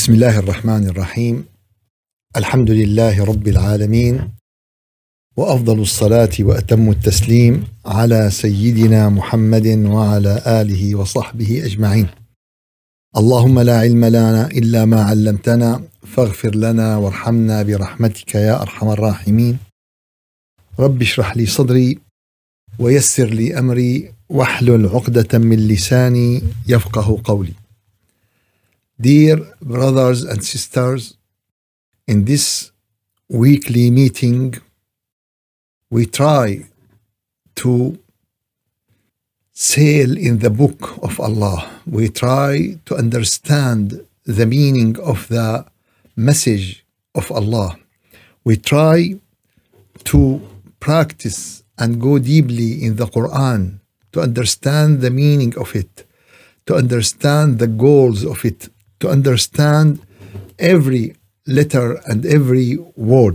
بسم الله الرحمن الرحيم. الحمد لله رب العالمين، وأفضل الصلاة وأتم التسليم على سيدنا محمد وعلى آله وصحبه أجمعين. اللهم لا علم لنا إلا ما علمتنا فاغفر لنا وارحمنا برحمتك يا أرحم الراحمين. رب اشرح لي صدري ويسر لي أمري واحلل عقدة من لساني يفقه قولي. Dear brothers and sisters, in this weekly meeting, we try to sail in the book of Allah. We try to understand the meaning of the message of Allah. We try to practice and go deeply in the Quran to understand the meaning of it, to understand the goals of it, to understand every letter and every word.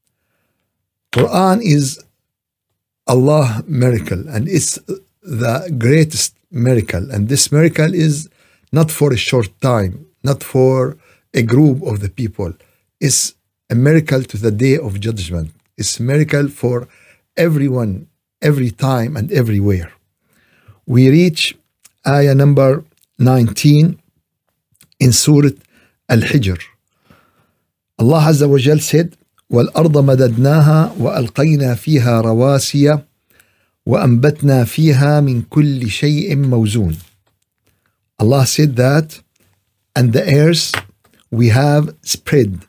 Quran is Allah's miracle, and it's the greatest miracle. And this miracle is not for a short time, not for a group of the people. It's a miracle to the day of judgment. It's a miracle for everyone, every time and everywhere. We reach ayah number 19 in Surah Al-Hijr. Allah Azza wa Jal said, وَالْأَرْضَ مَدَدْنَاهَا وَأَلْقَيْنَا فِيهَا رَوَاسِيَ وَأَنْبَتْنَا فِيهَا مِنْ كُلِّ شَيْءٍ مَوْزُونٍ. Allah said that, and the earth we have spread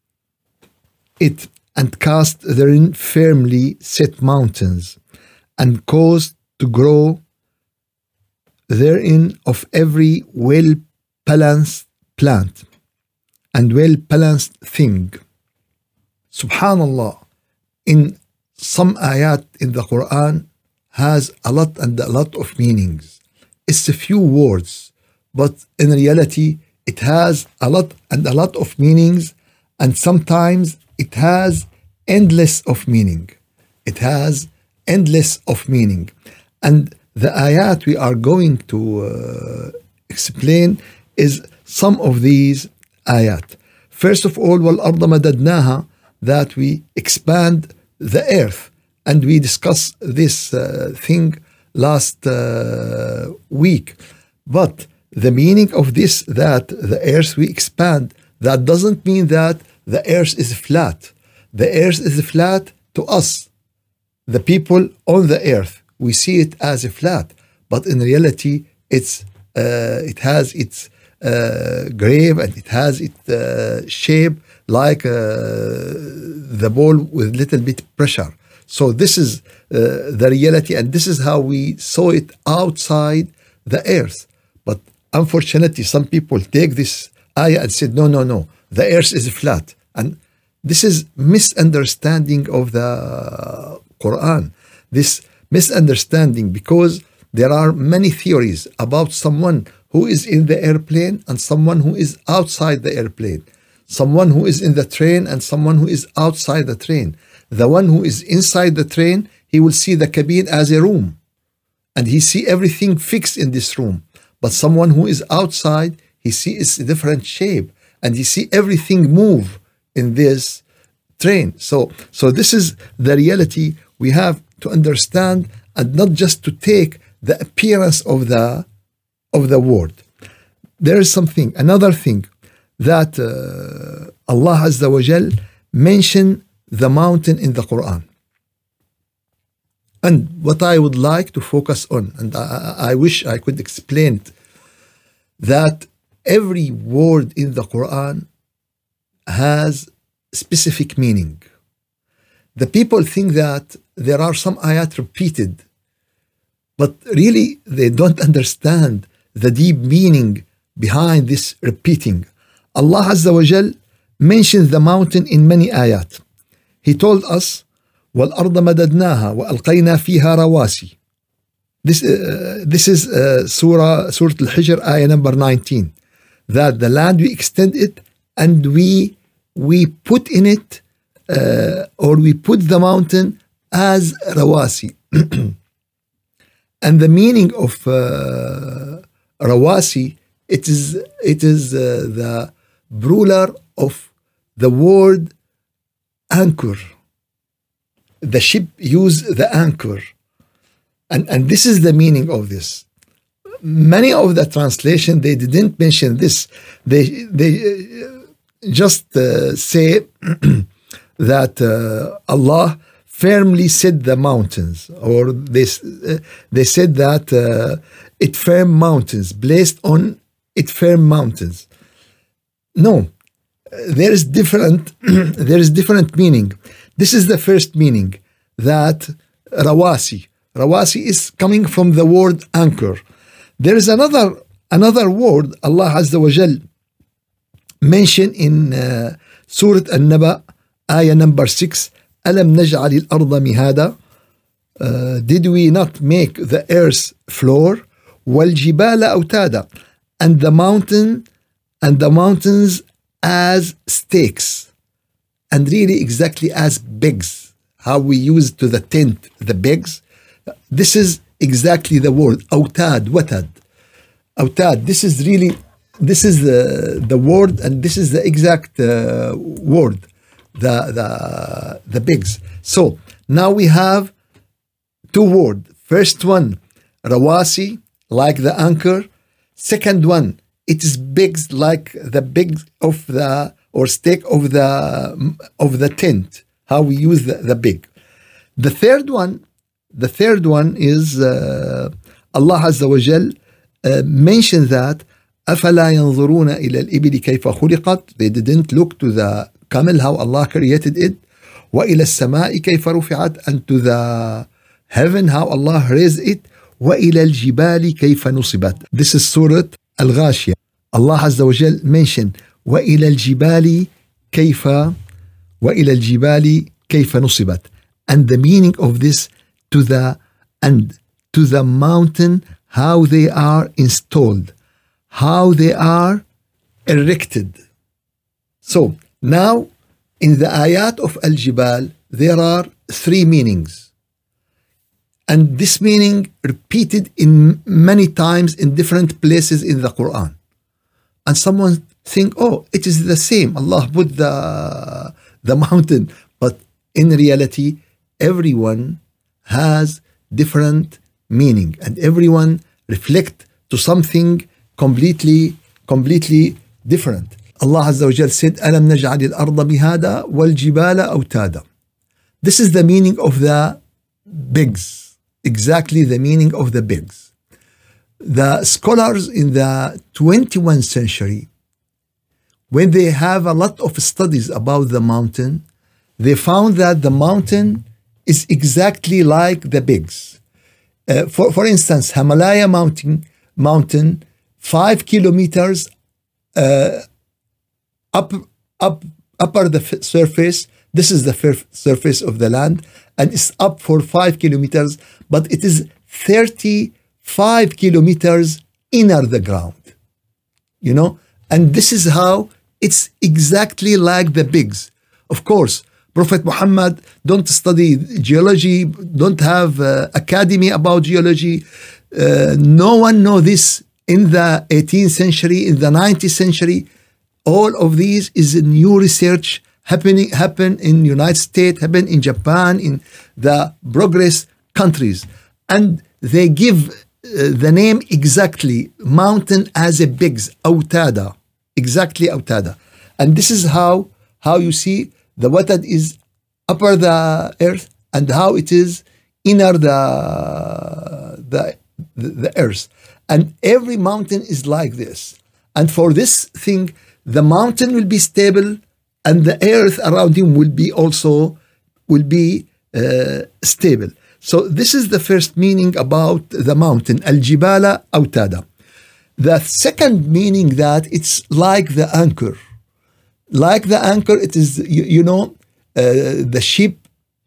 it and cast therein firmly set mountains and caused to grow therein of every well-balanced plant and well-balanced thing. Subhanallah, in some ayat in the Quran has a lot and a lot of meanings. It's a few words, but in reality it has a lot and a lot of meanings, and sometimes it has endless of meaning. It has endless of meaning. And the ayat we are going to explain is some of these ayat. First of all, وَالْأَرْضَ مَدَدْنَاهَا, that we expand the earth. And we discussed this thing last week. But the meaning of this, that the earth we expand, that doesn't mean that the earth is flat. The earth is flat to us, the people on the earth. We see it as a flat, but in reality, it has its grave, and it has its shape like the ball with little bit pressure. So this is the reality, and this is how we saw it outside the earth. But unfortunately, some people take this ayah and said, no, the earth is flat. And this is misunderstanding of the Quran. This misunderstanding, because there are many theories about someone who is in the airplane and someone who is outside the airplane, someone who is in the train and someone who is outside the train. The one who is inside the train, he will see the cabin as a room, and he see everything fixed in this room. But someone who is outside, he sees a different shape, and he see everything move in this train. So this is the reality we have to understand, and not just to take the appearance of the word. There is another thing that Allah Azza wa Jal mentioned the mountain in the Quran. And what I would like to focus on, and I wish I could explain it, that every word in the Quran has specific meaning. The people think that there are some ayat repeated, but really they don't understand the deep meaning behind this repeating. Allah Azza wa Jal mentions the mountain in many ayat. He told us, وَالْأَرْضَ مَدَدْنَاهَا وَأَلْقَيْنَا فِيهَا رَوَاسِي. This is Surah Al-Hijr, ayah number 19. That the land we extend it, and we put in it, or we put the mountain as rawasi. And the meaning of rawasi, it is the plural of the word anchor. The ship used the anchor. And this is the meaning of this. Many of the translation, they didn't mention this. They just say that Allah firmly set the mountains, or they said that it firm mountains, placed on it firm mountains. No, there is different meaning. This is the first meaning, that rawasi. Rawasi is coming from the word anchor. There is another word Allah Azza wa Jal mentioned in Surah An-Naba, ayah number 6. أَلَمْ نَجْعَلِ الْأَرْضَ مِهَادًا. Did we not make the earth floor? وَالْجِبَالَ أَوْتَادًا. And the mountains as stakes. And really exactly as pegs. How we use to the tent the pegs. This is exactly the word أوتاد, watad. أوتاد. This is the word, and this is the exact word, the pegs. So now we have two words. First one, rawasi, like the anchor. Second one, it is pegs, like the pegs of the, or stake of the tent. How we use the peg. The third one is Allah Azza wa Jal mentioned that أَفَلَا يَنظُرُونَ إِلَى الْإِبِلِ كَيْفَ خُلِقَتْ. They didn't look to the camel, how Allah created it. وَإِلَى السَّمَاءِ كَيْفَ رُفِعَتْ. And to the heaven, how Allah raised it. وَإِلَى الْجِبَالِ كَيْفَ نُصِبَتْ. This is Surah Al-Ghashiyah. Allah Azza wa Jal mentioned وَإِلَى الْجِبَالِ كَيْفَ نُصِبَتْ. And the meaning of this, to the mountain, how they are installed, how they are erected. So now in the ayat of Al-Jibal, there are three meanings. And this meaning repeated in many times in different places in the Quran. And someone think, oh, it is the same. Allah put the mountain. But in reality, everyone has different meaning, and everyone reflect to something completely different. Allah Azza wa Jal said, أَلَمْ نَجْعَلِ الْأَرْضَ مِهَادًا وَالْجِبَالَ أَوْتَادًا. This is the meaning of the pegs, exactly the meaning of the pegs. The scholars in the 21st century, when they have a lot of studies about the mountain, they found that the mountain is exactly like the pegs. For instance, Himalaya mountain 5 kilometers upper the surface. This is the surface of the land, and it's up for 5 kilometers, but it is 35 kilometers inner the ground. You know, and this is how it's exactly like the pegs. Of course, Prophet Muhammad don't study geology, don't have academy about geology. No one know this in the 18th century, in the 19th century. All of these is new research happen in United States, happen in Japan, in the progress countries. And they give the name exactly, mountain as a pegs, أوتادا, exactly أوتادا. And this is how you see the watad is upper the earth, and how it is inner the earth. And every mountain is like this. And for this thing, the mountain will be stable, and the earth around him will be stable. So this is the first meaning about the mountain, Al-Jibala Awtada. The second meaning, that it's like the anchor. Like the anchor, it is, the ship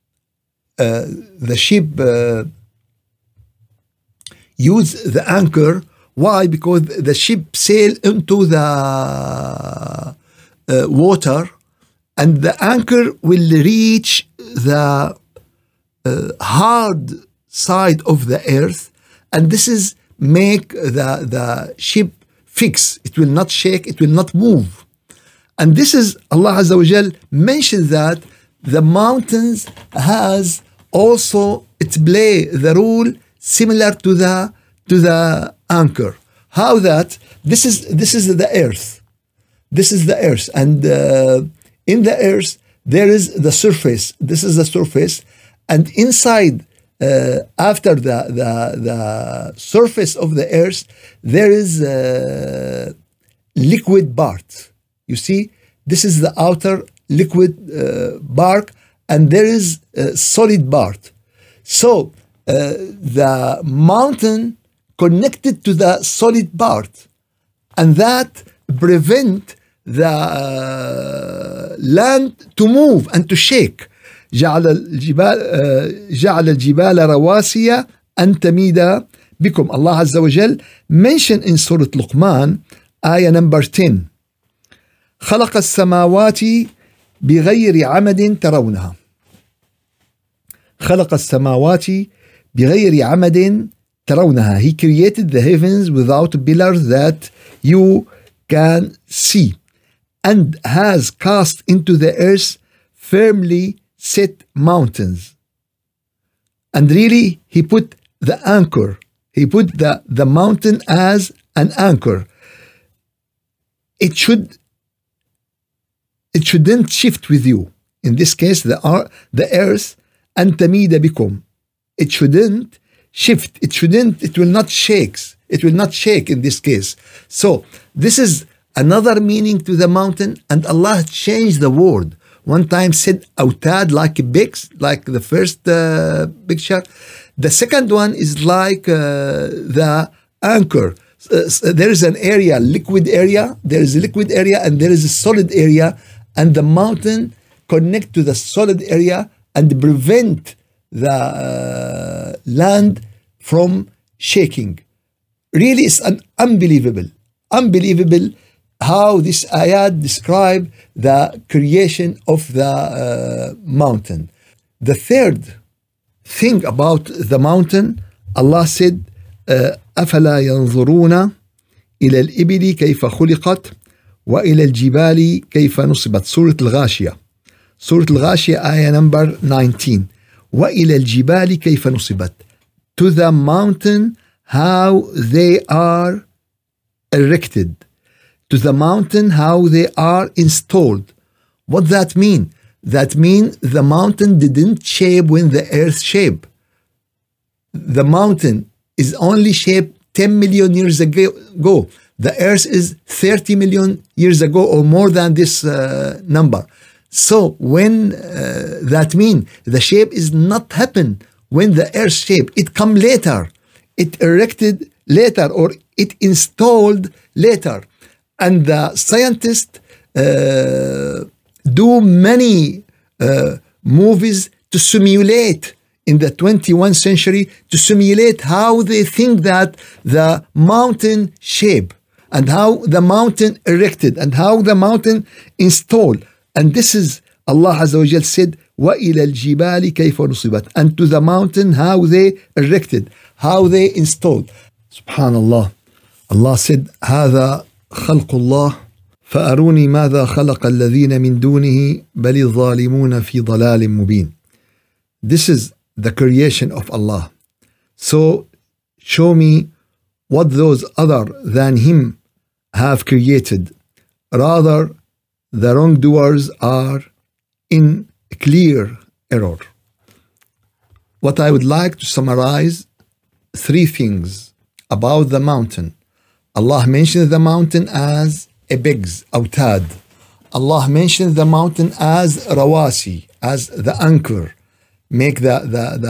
use the anchor. Why? Because the ship sail into the water, and the anchor will reach the hard side of the earth, and this is make the ship fix. It will not shake, it will not move. And this is Allah Azza wa Jal mentioned that the mountains has also it play the role similar to the anchor. How that this is the earth. This is the earth, and in the earth there is the surface. This is the surface, and inside after the surface of the earth there is liquid part. You see, this is the outer liquid bark, and there is solid part. So the mountain connected to the solid part, and that prevent the land to move and to shake. جعل الجبال رواسي أن تميد بكم. Allah Azza wa Jal mentioned in Surah Luqman ayah number 10 خلق السماوات بغير عمد ترونها. خلق السماوات بغير عمد ترونها. He created the heavens without pillars that you can see, and has cast into the earth firmly set mountains. And really, he put the anchor. He put the mountain as an anchor. It shouldn't shift with you. In this case, the earth أن تميد بكم. It shouldn't shift. It will not shake. It will not shake in this case. So this is another meaning to the mountain, and Allah changed the word. One time said autad, like bigs, like the first picture. The second one is like the anchor. There is an area, liquid area. There is a liquid area and there is a solid area, and the mountain connect to the solid area and prevent the land from shaking. Really, it's unbelievable how this ayat describe the creation of the mountain. The third thing about the mountain, Allah said, أفلا ينظرون إلى الإبل كيف خلقت وإلى الجبال كيف نصبت. سورة الغاشية. سورة الغاشية آية number 19. وإلى الجبال كيف نصبت. To the mountain how they are erected. To the mountain how they are installed. What that mean? That mean the mountain didn't shape when the earth shaped. The mountain is only shaped 10 million years ago. The earth is 30 million years ago or more than this number. So when that mean the shape is not happen when the earth shape, it come later. It erected later or it installed later. And the scientists do many movies to simulate in the 21st century, to simulate how they think that the mountain shape and how the mountain erected and how the mountain installed. And this is Allah Azza wa Jal said, وَإِلَى الْجِبَالِ كَيْفَ نُصِبَتْ. And to the mountain how they erected, how they installed. Subhanallah. Allah said, هذا خلق الله فأروني ماذا خلق الذين من دونه بل الظالمون في ضلال مبين. This is the creation of Allah. So show me what those other than him have created. Rather, the wrongdoers are in clear error. What I would like to summarize, three things about the mountain. Allah mentioned the mountain as a bigs, autad. Allah mentioned the mountain as rawasi, as the anchor, make the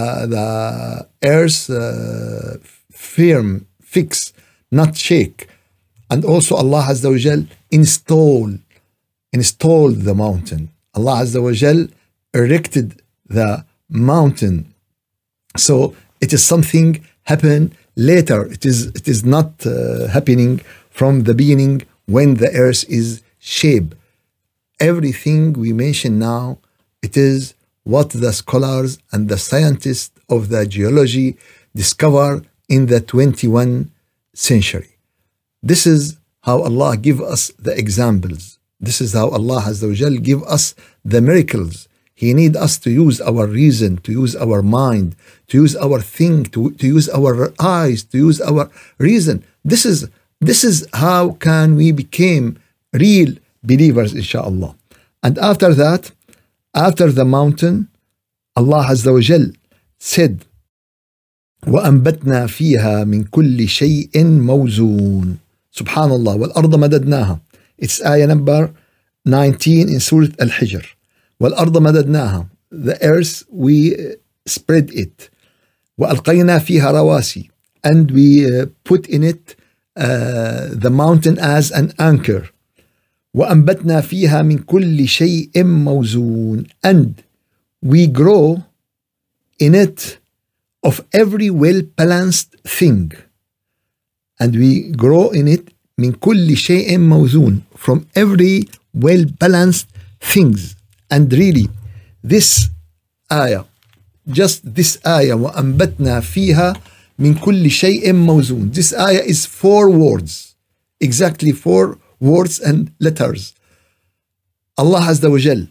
earth firm, fix, not shake. And also Allah Azza wa Jal installed the mountain. Allah Azza wa Jal erected the mountain. So it is something happened later. It is not happening from the beginning when the earth is shaped. Everything we mention now, it is what the scholars and the scientists of the geology discover in the 21st century. This is how Allah give us the examples. This is how Allah Azza wa Jal give us the miracles. He need us to use our reason, to use our mind, to use our think, to use our eyes, to use our reason. This is how can we become real believers, inshallah. And after that, after the mountain, Allah Azza wa Jal said, وَأَنْبَتْنَا فِيهَا مِنْ كُلِّ شَيْءٍ مَوْزُونٍ. Subhanallah, وَالْأَرْضَ مَدَدْنَاهَا. It's ayah number 19 in Surah Al-Hijr. وَالْأَرْضَ مَدَدْنَاهَا. The earth, we spread it. وَأَلْقَيْنَا فِيهَا رَوَاسِي. And we put in it the mountain as an anchor. وَأَنْبَتْنَا فِيهَا مِنْ كُلِّ شَيْءٍ مَوْزُونٍ. And we grow in it of every well-balanced thing. And we grow in it من كل شيء موزون, from every well-balanced things. And really, this ayah, just this ayah, وَأَنْبَتْنَا فِيهَا مِنْ كُلِّ شَيْءٍ مَوْزُونٍ. This ayah is 4 words, exactly 4 words and letters. Allah Azza wa Jal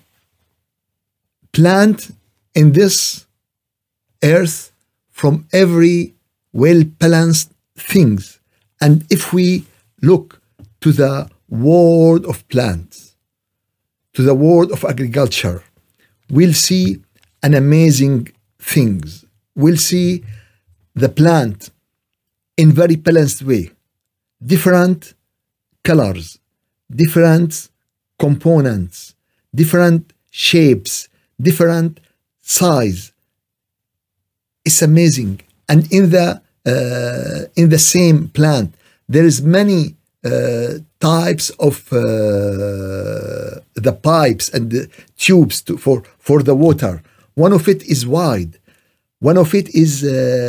plant in this earth from every well-balanced things. And if we look to the world of plants, to the world of agriculture, we'll see an amazing things. We'll see the plant in very balanced way, different colors, different components, different shapes, different size. It's amazing. And in the same plant, there is many types of the pipes and the tubes for the water. One of it is wide. One of it is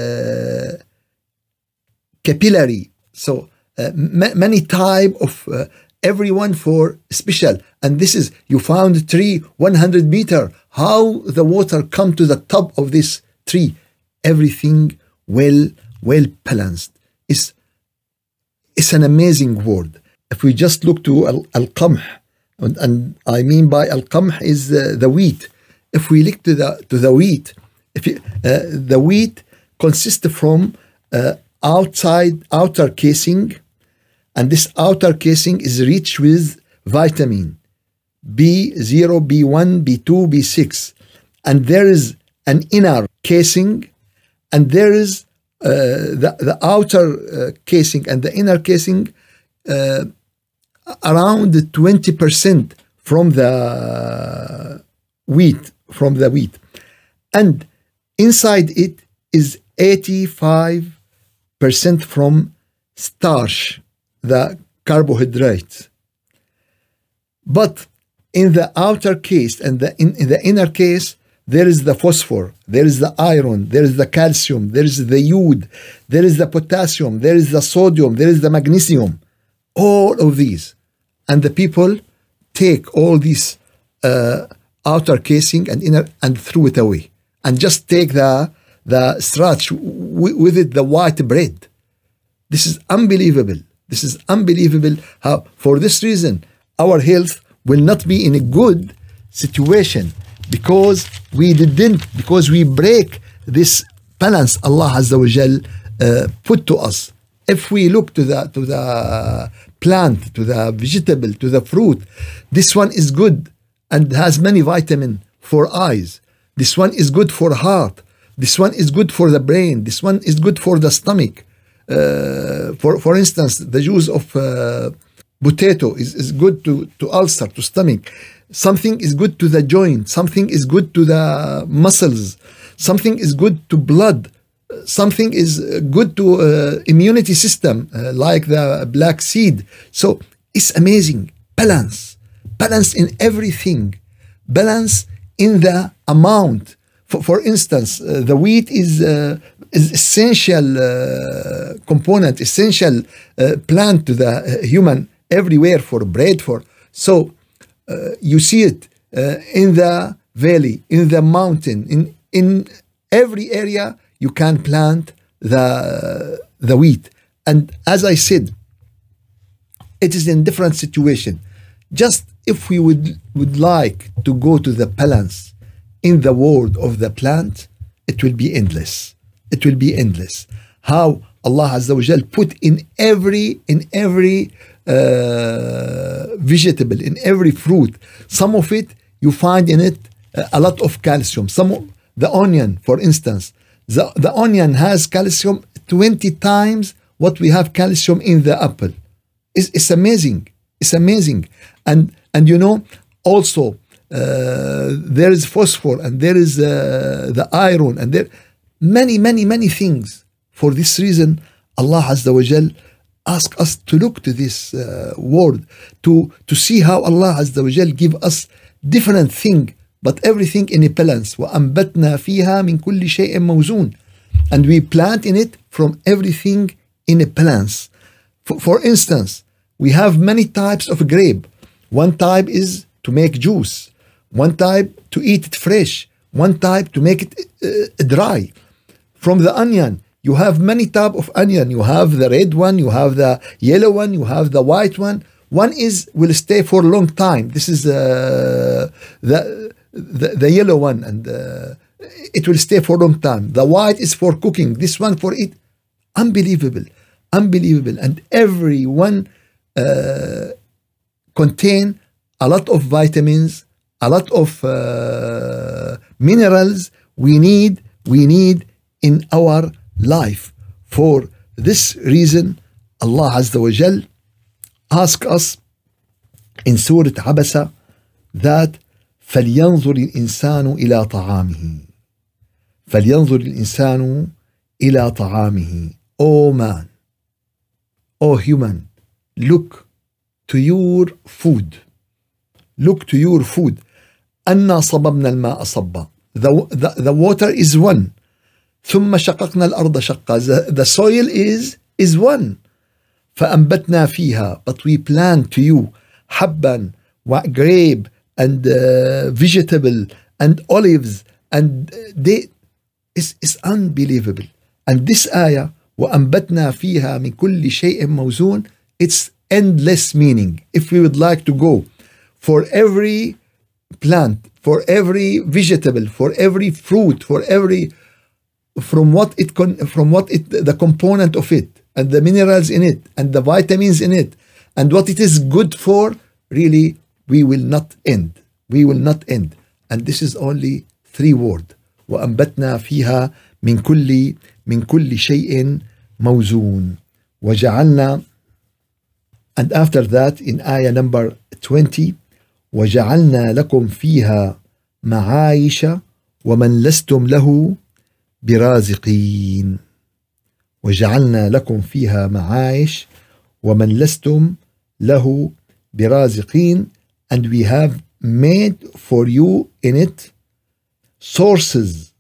capillary. So many type of everyone for special. And this is, you found a tree 100 meter. How the water come to the top of this tree? Everything well balanced. It's an amazing word. If we just look to al-qamh, and I mean by al-qamh is the wheat. If we look to the wheat, the wheat consists from outer casing, and this outer casing is rich with vitamin B0, B1, B2, B6, and there is an inner casing, and there is the outer casing and the inner casing around 20% from the wheat, and inside it is 85% from starch, the carbohydrates. But in the outer case and in the inner case, there is the phosphor, there is the iron, there is the calcium, there is the iod, there is the potassium, there is the sodium, there is the magnesium, all of these. And the people take all these outer casing and inner and throw it away, and just take the starch with it, the white bread. This is unbelievable. This is unbelievable how, for this reason, our health will not be in a good situation, because we break this balance Allah Azza wa Jal put to us. If we look to the plant, to the vegetable, to the fruit, this one is good and has many vitamin for eyes. This one is good for heart. This one is good for the brain. This one is good for the stomach. For instance, the juice of potato is good to ulcer, to stomach. Something is good to the joint. Something is good to the muscles. Something is good to blood. Something is good to immunity system, like the black seed. So it's amazing. Balance in everything. Balance in the amount. For instance, the wheat is essential component, essential plant to the human everywhere, for bread, so you see it in the valley, in the mountain, in every area you can plant the wheat. And as I said, it is in different situation. Just if we would like to go to the balance in the world of the plant, it will be endless. It will be endless. How Allah Azza wa Jal put in every vegetable, in every fruit, some of it you find in it a lot of calcium. The onion, for instance, the onion has calcium 20 times what we have calcium in the apple. It's amazing. It's amazing. And you know, also there is phosphor, and there is the iron, and there many things. For this reason, Allah Azza wa Jal ask us to look to this word, to see how Allah Azza wa Jal give us different thing, but everything in a balance. وَأَنْبَتْنَا فِيهَا مِنْ كُلِّ شَيْءٍ مَوْزُونٍ. And we plant in it from everything in a balance. For instance, we have many types of grape. One type is to make juice. One type to eat it fresh. One type to make it dry. From the onion, you have many types of onion. You have the red one, you have the yellow one, you have the white one. One will stay for a long time. This is the yellow one, and it will stay for a long time. The white is for cooking. This one for eat. Unbelievable. And every one contain a lot of vitamins, a lot of minerals we need in our life. For this reason, Allah Azza wa Jal ask us in Surah Abasa that فَلْيَنْظُرِ الْإِنسَانُ إِلَى طَعَامِهِ. فَلْيَنْظُرِ الْإِنسَانُ إِلَى طَعَامِهِ. Oh man, oh human, look to your food. Look to your food. أَنَّا صَبَبْنَا الْمَاءَ صَبًّا. The water is one. ثُمَّ شَقَقْنَا الْأَرْضَ شَقًّا. The soil is one. فَأَنْبَتْنَا فِيهَا. But we plant to you حَبًّا وَgrape and vegetable and olives, and it's unbelievable. And this ayah, وَأَنْبَتْنَا فِيهَا مِنْ كُلِّ شَيْءٍ مَوْزُونٍ, it's endless meaning. If we would like to go for every plant, for every vegetable, for every fruit, from what the component of it, and the minerals in it, and the vitamins in it, and what it is good for, really, we will not end. And this is only 3 words. وَأَنْبَتْنَا فِيهَا مِنْ كُلِّ شَيْءٍ مَوْزُونٍ وَجَعَلْنَا. And after that, in ayah number 20, وَجَعَلْنَا لَكُمْ فِيهَا مَعَايِشَ وَمَنْ لَسْتُمْ لَهُ بِرَازِقِينَ. وَجَعَلْنَا لَكُمْ فِيهَا مَعَايِشَ وَمَنْ لَسْتُمْ لَهُ بِرَازِقِينَ. And we have made for you in it sources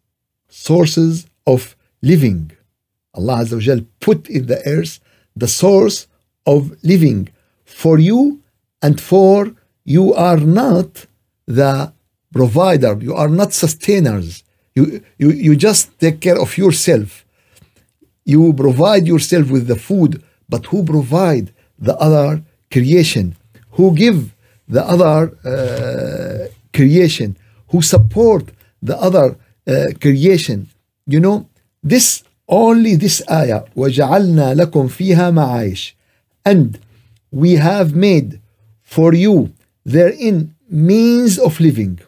of living. Allah Azza wa Jal put in the earth the source of living for you, and for you are not the provider, you are not sustainers. You just take care of yourself. You provide yourself with the food, but who provide the other creation? Who give the other creation? Who support the other creation? You know, this ayah, وَجَعَلْنَا لَكُمْ فِيهَا مَعَايِشَ. And we have made for you therein means of living.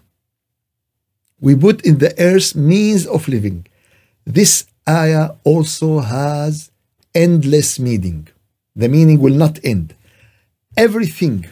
We put in the earth means of living. This ayah also has endless meaning. The meaning will not end. Everything,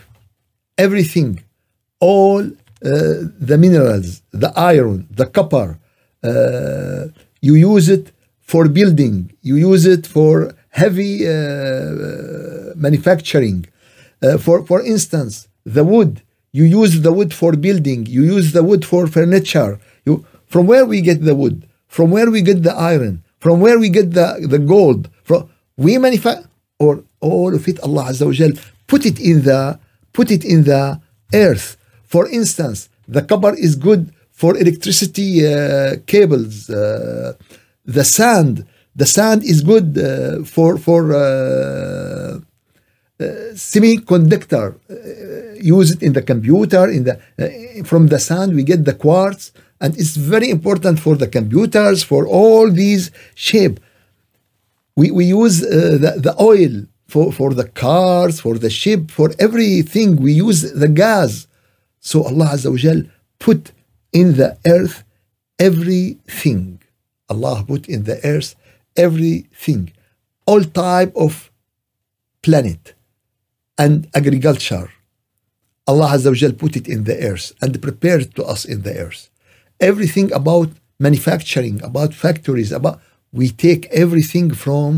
all the minerals, the iron, the copper, you use it for building, you use it for heavy manufacturing. For instance, the wood, you use the wood for building, you use the wood for furniture. From where we get the wood? From where we get the iron? From where we get the gold? We manufacture, or all of it, Allah Azza wa Jal put it in the earth. For instance, the copper is good for electricity cables. The sand is good for semiconductor, use it in the computer, from the sand we get the quartz, and it's very important for the computers, for all these shape. We use the oil for the cars, for the ship, for everything. We use the gas. So Allah Azza wa Jal put in the earth everything. Allah put in the earth everything, all type of planet and agriculture. Allah Azza wa Jal put it in the earth and prepared to us in the earth. Everything about manufacturing, about factories, we take everything from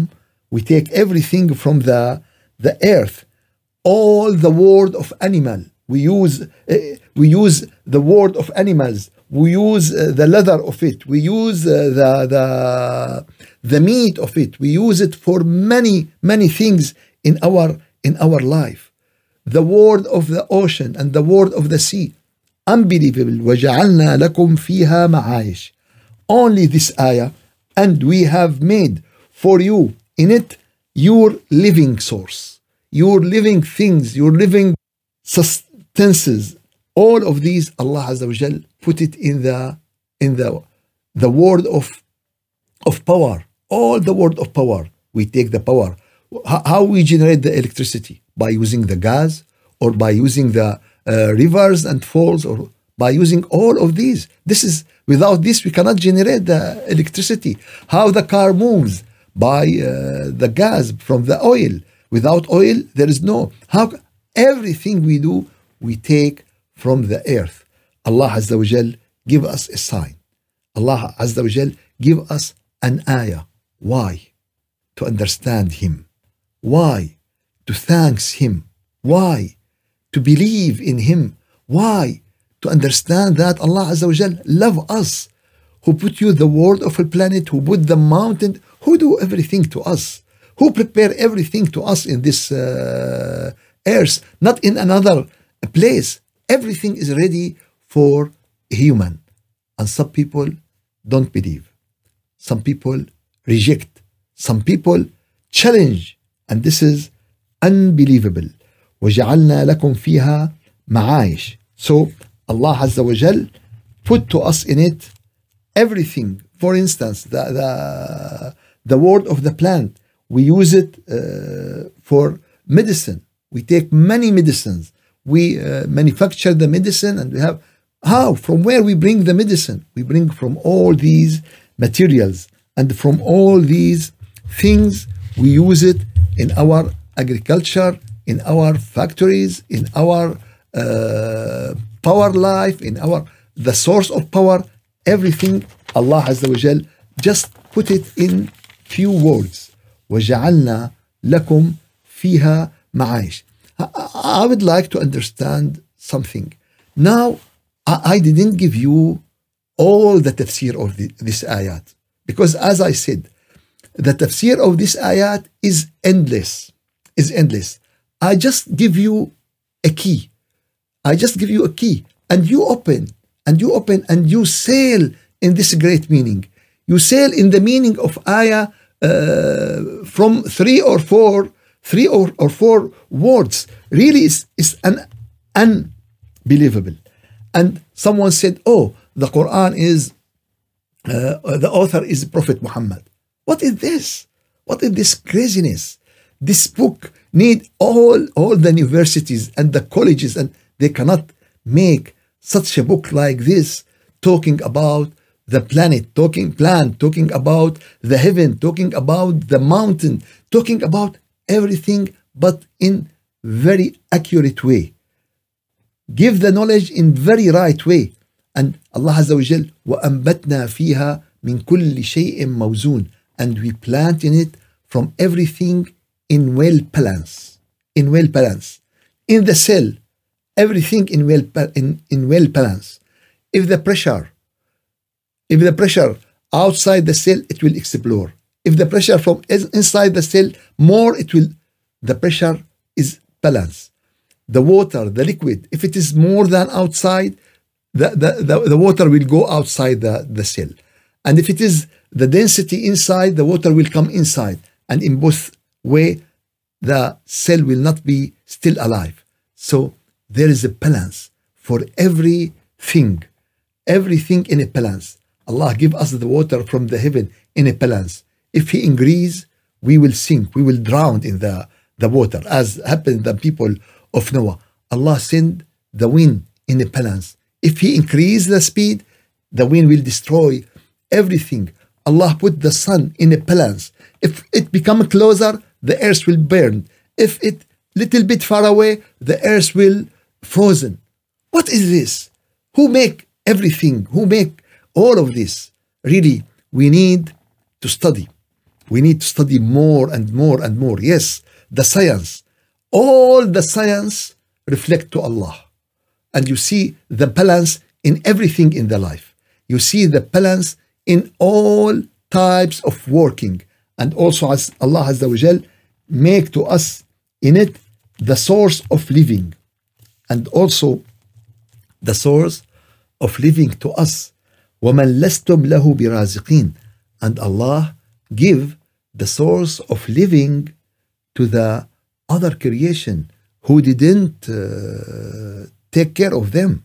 the earth. All the world of animal, we use the word of animals. We use the leather of it. We use the meat of it. We use it for many things in our life. The word of the ocean and the word of the sea. Unbelievable. وَجَعَلْنَا لَكُمْ فِيهَا مَعَايِشْ. Only this ayah, and we have made for you in it your living source, your living things, your living sustenances. All of these, Allah Azza wa Jal put it in the word of power. All the word of power. We take the power. How we generate the electricity? By using the gas, or by using the rivers and falls, or by using all of these. Without this we cannot generate the electricity. How the car moves? By the gas from the oil. Without oil there is no. How everything we do we take from the earth. Allah Azza wa Jal give us a sign. Allah Azza wa Jal give us an ayah. Why? To understand Him. Why? To thank Him. Why? To believe in Him. Why? To understand that Allah Azza wa Jal love us. Who put you the world of a planet, who put the mountain, who do everything to us, who prepare everything to us in this earth, not in another place. Everything is ready for human. And some people don't believe. Some people reject. Some people challenge. And this is unbelievable. وَجَعَلْنَا لَكُمْ فِيهَا مَعَايِشْ. So Allah Azza wa Jal put to us in it everything. For instance, the word of the plant, we use it for medicine. We take many medicines. We manufacture the medicine, and we have how? From where we bring the medicine? We bring from all these materials, and from all these things we use it in our agriculture, in our factories, in our power life, in the source of power. Everything Allah Azza wa Jal just put it in few words. وَجَعَلْنَا لَكُمْ فِيهَا مَعَايِشْ. I would like to understand something. Now, I didn't give you all the tafsir of this ayat, because as I said, the tafsir of this ayat is endless. I just give you a key. And you open, and you sail in this great meaning. You sail in the meaning of ayah from three or four words. Really is unbelievable. And someone said, oh, the Quran is, the author is Prophet Muhammad. What is this? What is this craziness? This book need all the universities and the colleges, and they cannot make such a book like this, talking about the planet, talking about the heaven, talking about the mountain, talking about everything, but in very accurate way. Give the knowledge in very right way. And Allah Azza wa Jal, وَأَنْبَتْنَا فِيهَا مِنْ كُلِّ شَيْءٍ مَوْزُونٍ. And we plant in it from everything in well balance. In the cell, everything in well balance. If the pressure outside the cell, it will explode. If the pressure from inside the cell more, the pressure is balanced. The water, the liquid, if it is more than outside, the water will go outside the cell. And if it is the density inside, the water will come inside. And in both way, the cell will not be still alive. So there is a balance for everything in a balance. Allah give us the water from the heaven in a balance. If He increase, we will sink, we will drown in the water, as happened to the people of Noah. Allah send the wind in a balance. If He increase the speed, the wind will destroy everything. Allah put the sun in a balance. If it become closer, the earth will burn. If it little bit far away, the earth will frozen. What is this? Who make everything? Who make all of this? Really, we need to study. We need to study more and more and more. Yes, the science. All the science reflect to Allah. And you see the balance in everything in the life. You see the balance in all types of working. And also as Allah Azza wa Jal make to us in it the source of living. And also the source of living to us. وَمَنْ لَسْتُمْ لَهُ بِرَازِقِينَ. And Allah give the source of living to the other creation who didn't take care of them.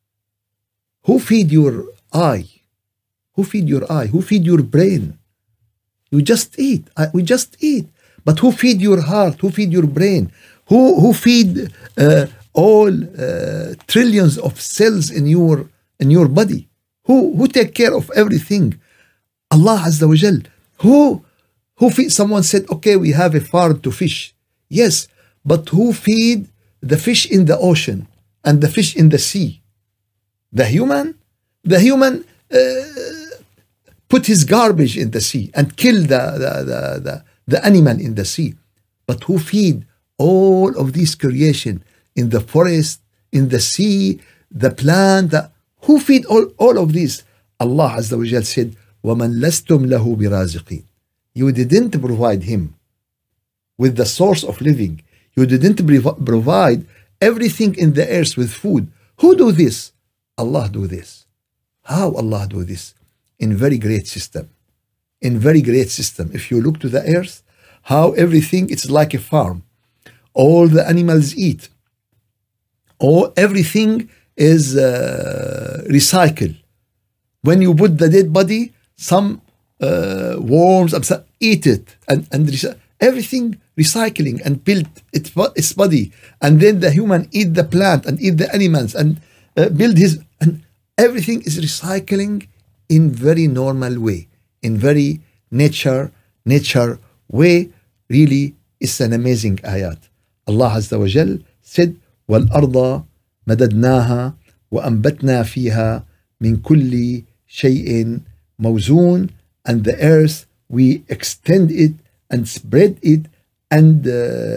Who feed your eye? Who feed your eye? Who feed your brain? You just eat. We just eat. But who feed your heart? Who feed your brain? Who feed all trillions of cells in your body? Who take care of everything? Allah Azza wa Jal. Who feed? Someone said, okay, we have a farm to fish. Yes, but who feed the fish in the ocean and the fish in the sea? The human? The human put his garbage in the sea and kill the animal in the sea. But who feed all of these creation in the forest, in the sea, the plant? Who feed all of this? Allah Azza wa Jal said, وَمَنْ لَسْتُمْ لَهُ بِرَازِقِينَ. You didn't provide him with the source of living. You didn't provide everything in the earth with food. Who do this? Allah do this. How Allah do this? In very great system. In very great system. If you look to the earth, how everything, it's like a farm. All the animals eat. Everything is recycled. When you put the dead body, some worms eat it and everything recycling and build its body, and then the human eat the plant and eat the animals and build his, and everything is recycling in very normal way, in very nature way. Really, it's an amazing ayat. Allah Azza wa Jal said, وَالْأَرْضَ مَدَدْنَاهَا وَأَنْبَتْنَا فِيهَا مِنْ كُلِّ شَيْءٍ مَوْزُونٍ. And the earth, we extend it and spread it, and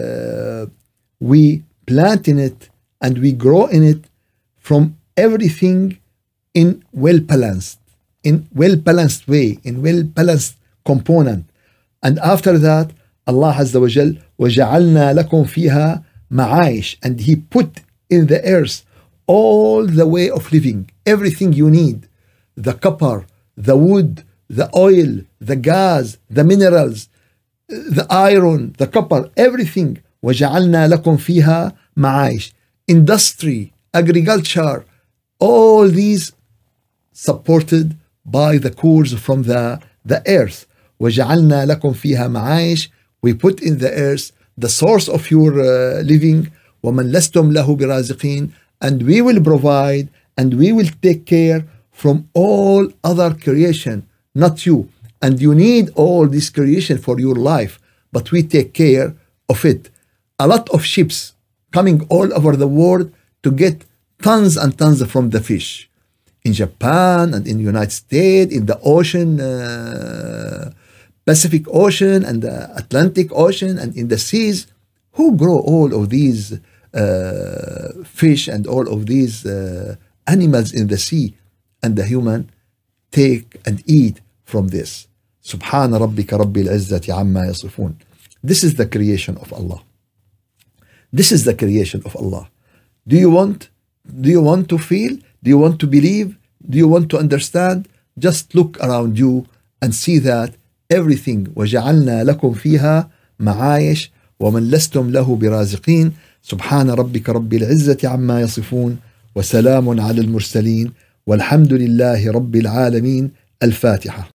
we plant in it and we grow in it from everything in well-balanced way, in well-balanced component. And after that, Allah Azza wa Jal, وَجَعَلْنَا لَكُمْ فِيهَا مَعَايِشٍ. And He put in the earth all the way of living, everything you need, the copper, the wood, the oil, the gas, the minerals, the iron, the copper, everything. وَجَعَلْنَا لَكُمْ فِيهَا مَعَايِشٍ. Industry, agriculture, all these supported by the cores from the earth. وَجَعَلْنَا لَكُمْ فِيهَا مَعَايِشٍ. We put in the earth the source of your living. وَمَنْ لَسْتُمْ لَهُ بِرَازِقِينَ. And we will provide and we will take care from all other creation, not you. And you need all this creation for your life, but we take care of it. A lot of ships coming all over the world to get tons and tons from the fish. In Japan and in the United States, in the ocean, Pacific Ocean and the Atlantic Ocean and in the seas. Who grow all of these fish and all of these animals in the sea? And the human take and eat from this. Subhana rabbika rabbil izzati amma yasifun. This is the creation of Allah. This is the creation of Allah. Do you want to feel? Do you want to believe? Do you want to understand? Just look around you and see that everything. وَجَعَلْنَا لَكُمْ فِيهَا مَعَايِشٍ ومن لستم له برازقين. سبحان ربك رب العزة عما يصفون وسلام على المرسلين والحمد لله رب العالمين. الفاتحة.